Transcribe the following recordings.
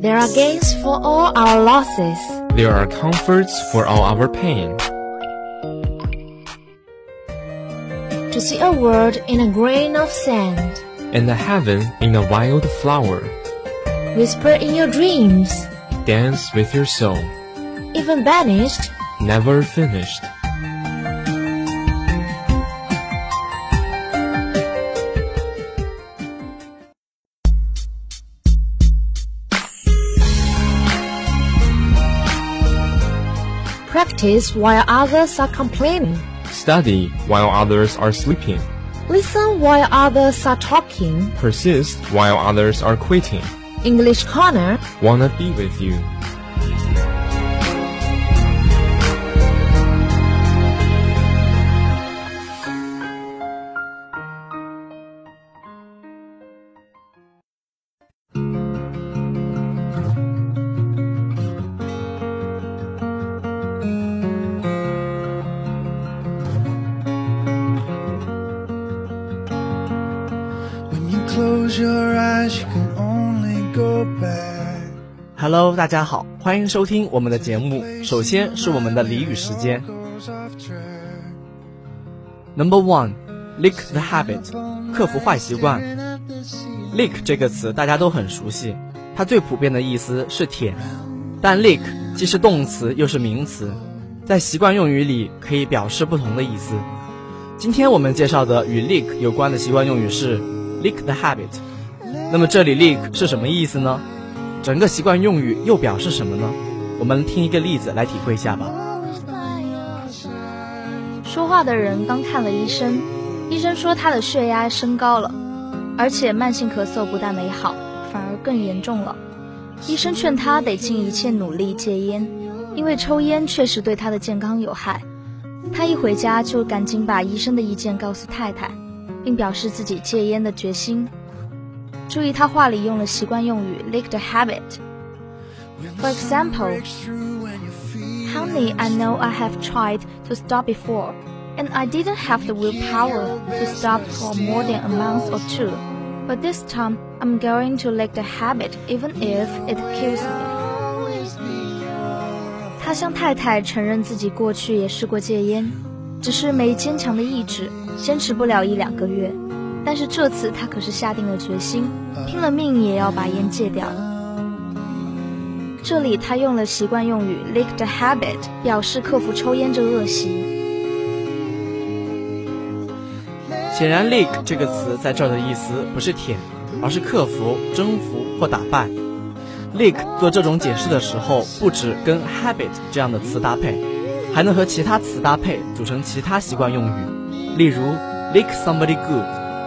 There are gains for all our losses. There are comforts for all our pain. To see a world in a grain of sand. And a heaven in a wild flower. Whisper in your dreams. Dance with your soul. Even banished. Never finished. Practice while others are complaining. Study while others are sleeping. Listen while others are talking. Persist while others are quitting. English Corner. Wanna be with you. Close your eyes, you can only go back. Hello， 大家好，欢迎收听我们的节目。首先是我们的俚语时间。Number 1， lick the habit， 克服坏习惯。lick 这个词大家都很熟悉，它最普遍的意思是舔，但 lick 既是动词又是名词，在习惯用语里可以表示不同的意思。今天我们介绍的与 lick 有关的习惯用语是lick the habit。 那么这里 lick 是什么意思呢？整个习惯用语又表示什么呢？我们听一个例子来体会一下吧。 说话的人刚看了医生，医生说他的血压升高了，而且慢性咳嗽不但没好，反而更严重了。医生劝他得尽一切努力戒烟，因为抽烟确实对他的健康有害。他一回家就赶紧把医生的意见告诉太太，并表示自己戒烟的决心。注意他话里用了习惯用语 lick the habit。 For example, Honey, I know I have tried to stop before, and I didn't have the willpower to stop for more than a month or two. But this time, I'm going to lick the habit even if it kills me. 他向太太承认自己过去也试过戒烟，只是没坚强的意志，坚持不了1-2个月。但是这次他可是下定了决心，拼了命也要把烟戒掉。这里他用了习惯用语 lick the habit， 表示克服抽烟这恶习。 显然 lick 这个词在这儿的意思不是舔，而是克服、征服或打败。lick 做这种解释的时候，不只跟 habit 这样的词搭配，还能和其他词搭配组成其他习惯用语。例如 lick somebody good。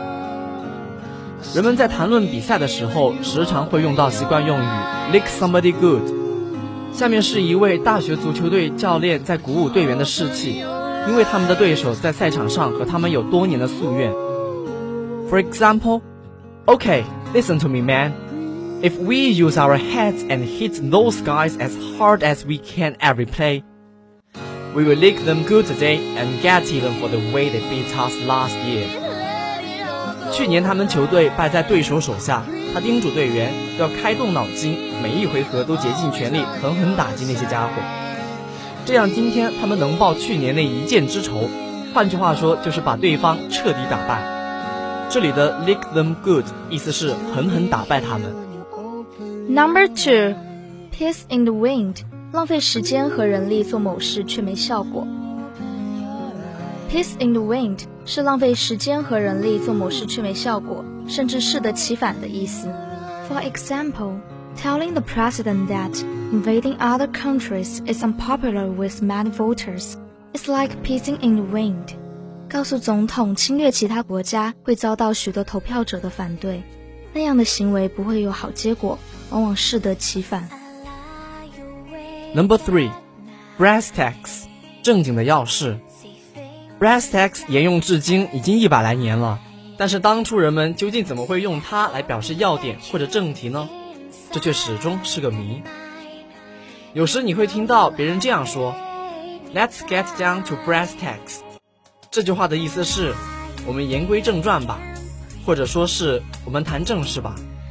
人们在谈论比赛的时候时常会用到习惯用语 lick somebody good。 下面是一位大学足球队教练在鼓舞队员的士气，因为他们的对手在赛场上和他们有多年的夙愿。 For example, Okay, listen to me, man. If we use our heads and hit those guys as hard as we can every play, we will lick them good today and get even for the way they beat us last year. 去年他们球队败在对手手下，他叮嘱队员要开动脑筋，每一回合都竭尽全力狠狠打击那些家伙，这样今天他们能报去年那一箭之仇。换句话说，就是把对方彻底打败。这里的 lick them good 意思是狠狠打败他们。 Number 2, piss in the wind， 浪费时间和人力做某事却没效果。Piss in the wind 是浪费时间和人力做某事却没效果，甚至适得其反的意思。For example, telling the president that invading other countries is unpopular with many voters is like pissing in the wind. 告诉总统侵略其他国家会遭到许多投票者的反对，那样的行为不会有好结果，往往适得其反。 Number 3, brass tacks， 正经的要事。Brass tacks 沿用至今已经100来年了，但是当初人们究竟怎么会用它来表示要点或者正题呢？这却始终是个谜。有时你会听到别人这样说 Let's get down to brass tacks， 这句话的意思是我们言归正传吧，或者说是我们谈正事吧。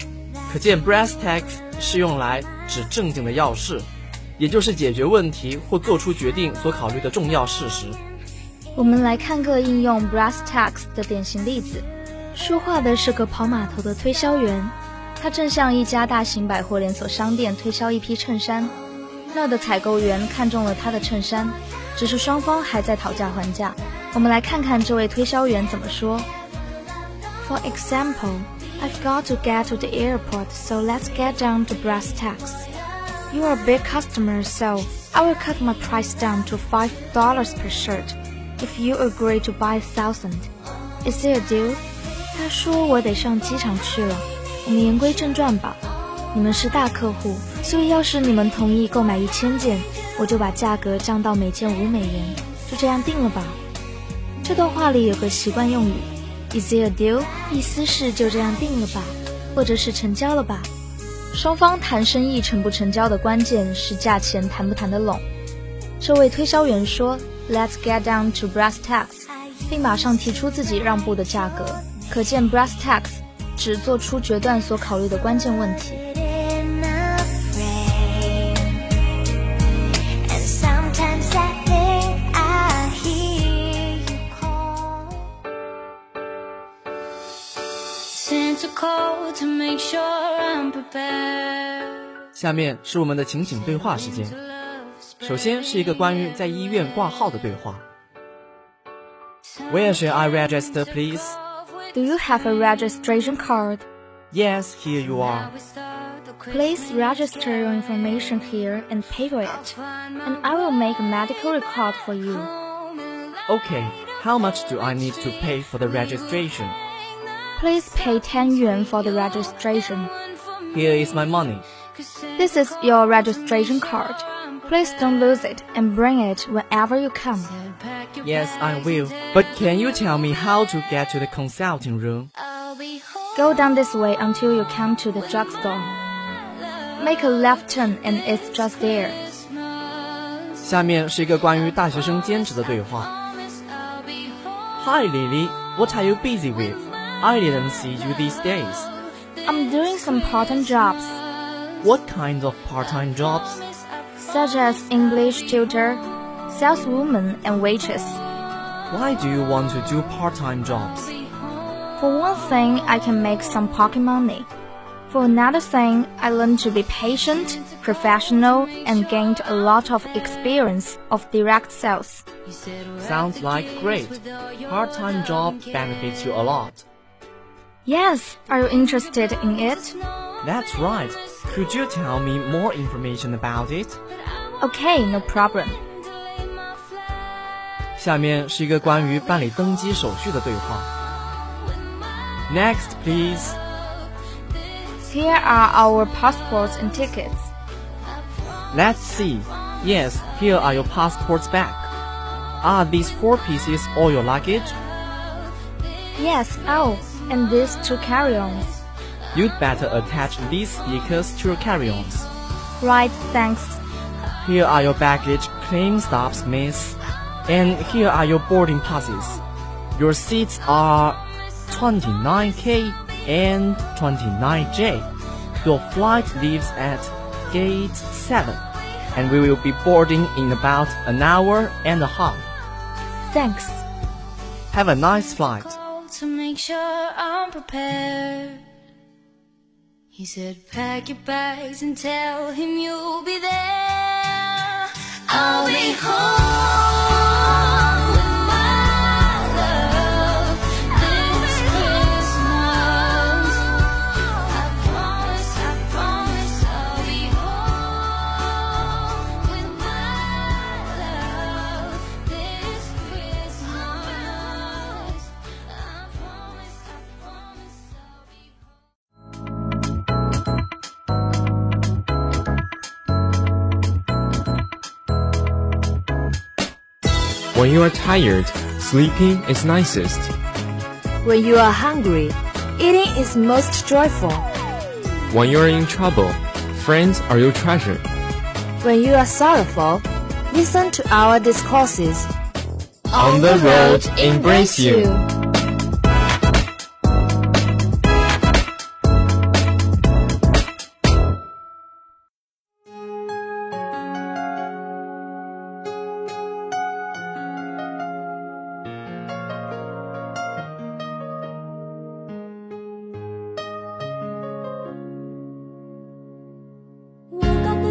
可见 brass tacks 是用来指正经的要事，也就是解决问题或做出决定所考虑的重要事实。 我们来看个应用 brass tacks 的典型例子。说话的是个跑码头的推销员，他正向一家大型百货连锁商店推销一批衬衫。那儿的采购员看中了他的衬衫，只是双方还在讨价还价。我们来看看这位推销员怎么说。For example, I've got to get to the airport, so let's get down to brass tacks. You are a big customer, so I will cut my price down to $5 per shirt if you agree to buy 1,000. Is it a deal? 他说我得上机场去了，我们言归正传吧。你们是大客户，所以要是你们同意购买1000件，我就把价格降到每件$5，就这样定了吧。这段话里有个习惯用语 Is it a deal？ 意思是就这样定了吧，或者是成交了吧。双方谈生意成不成交的关键是价钱谈不谈得拢。这位推销员说 Let's get down to brass tacks， 并马上提出自己让步的价格，可见 brass tacks 指做出决断所考虑的关键问题。 下面是我们的情景对话时间。首先是一个关于在医院挂号的对话。Where shall I register, please? Do you have a registration card? Yes, here you are. Please register your information here and pay for it, and I will make a medical record for you. Okay, how much do I need to pay for the registration? Please pay 10 yuan for the registration. Here is my money. This is your registration card. Please don't lose it and bring it whenever you come. Yes, I will. But can you tell me how to get to the consulting room? Go down this way until you come to the drugstore. Make a left turn and it's just there. 下面是一个关于大学生兼职的对话。Hi Lily, what are you busy with? I didn't see you these days. I'm doing some part-time jobs, What kind of part-time jobs? such as English tutor, saleswoman, and waitress. Why do you want to do part-time jobs? For one thing, I can make some pocket money. For another thing, I learned to be patient, professional, and gained a lot of experience of direct sales. Sounds like great. Part-time job benefits you a lot. Yes, are you interested in it? That's right. Could you tell me more information about it? Okay, no problem. 下面是一个关于办理登机手续的对话。Next, please. Here are our passports and tickets. Let's see. Yes, here are your passports back. Are these 4 pieces all your luggage? Yes, oh, and these 2 carry-ons. You'd better attach these stickers to your carry-ons. Right, thanks. Here are your baggage claim stubs, miss. And here are your boarding passes. Your seats are 29K and 29J. Your flight leaves at gate 7, and we will be boarding in about an hour and a half. Thanks. Have a nice flight. To make sure I'm prepared. He said, pack your bags and tell him you'll be there. I'll be home with my love this Christmas. I promise I'll be home with my love this Christmas. I promise I'll be When you are tired, sleeping is nicest. When you are hungry, eating is most joyful. When you are in trouble, friends are your treasure. When you are sorrowful, listen to our discourses. On the road, embrace you.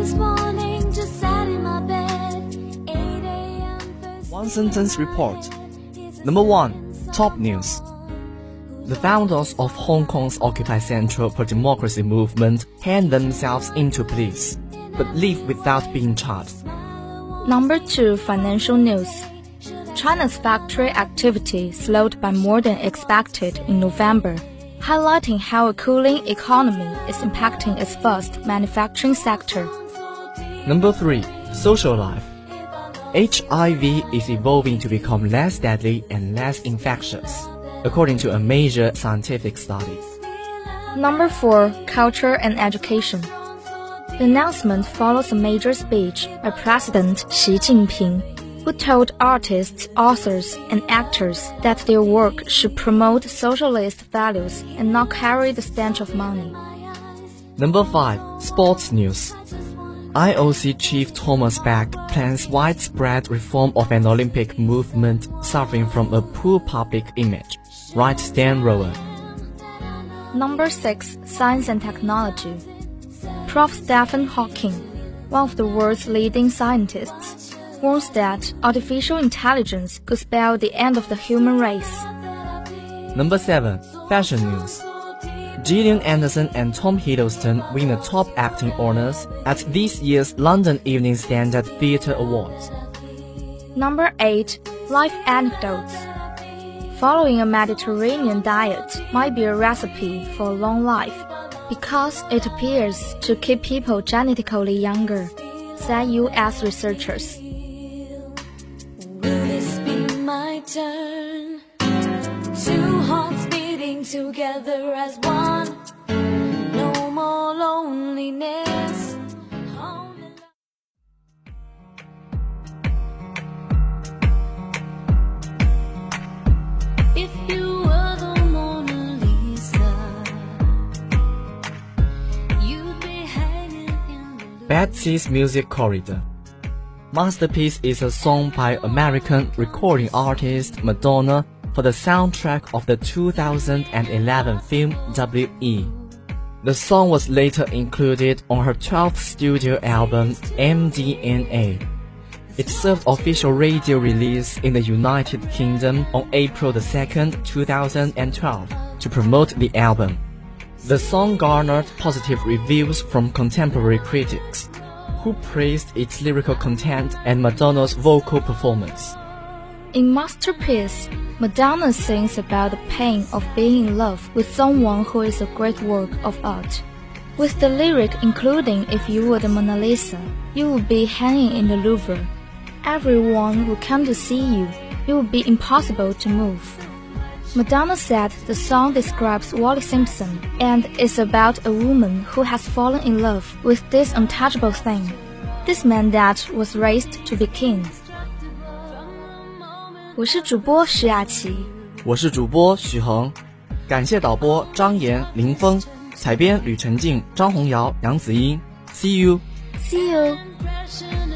this morning, just sat in my bed. 8 a.m. first One sentence report. Number 1. Top news. The founders of Hong Kong's Occupy Central for Democracy movement hand themselves into police, but leave without being charged. Number 2. Financial news. China's factory activity slowed by more than expected in November, highlighting how a cooling economy is impacting its vast manufacturing sector. Number 3. Social life. HIV is evolving to become less deadly and less infectious, according to a major scientific study. Number 4. Culture and education. The announcement follows a major speech by President Xi Jinping, who told artists, authors, and actors that their work should promote socialist values and not carry the stench of money. Number 5. Sports news. IOC Chief Thomas Bach plans widespread reform of an Olympic movement suffering from a poor public image, writes Dan Rowan. Number 6. Science and technology. Prof. Stephen Hawking, one of the world's leading scientists, warns that artificial intelligence could spell the end of the human race. Number 7. Fashion news. Gillian Anderson and Tom Hiddleston win the top acting honors at this year's London Evening Standard Theatre Awards. Number 8. Life anecdotes. Following a Mediterranean diet might be a recipe for a long life because it appears to keep people genetically younger, said U.S. researchers. Will this be my turn? Two hearts beating together as one. No more loneliness. If you were the Mona Lisa, you'd be hanging in the Betsy's Music Corridor. Masterpiece is a song by American recording artist Madonna for the soundtrack of the 2011 film W.E. The song was later included on her 12th studio album MDNA. It served official radio release in the United Kingdom on April 2nd, 2012 to promote the album. The song garnered positive reviews from contemporary critics, who praised its lyrical content and Madonna's vocal performance. In Masterpiece, Madonna sings about the pain of being in love with someone who is a great work of art. With the lyric including "If you were the Mona Lisa, you would be hanging in the Louvre. Everyone would come to see you. It would be impossible to move." Madonna said the song describes Wally Simpson and is about a woman who has fallen in love with this untouchable thing, this man that was raised to be king. 我是主播徐雅琪， 我是主播许恒，感谢导播张岩、林峰，采编吕晨静、张红瑶、杨子英。See you. See you.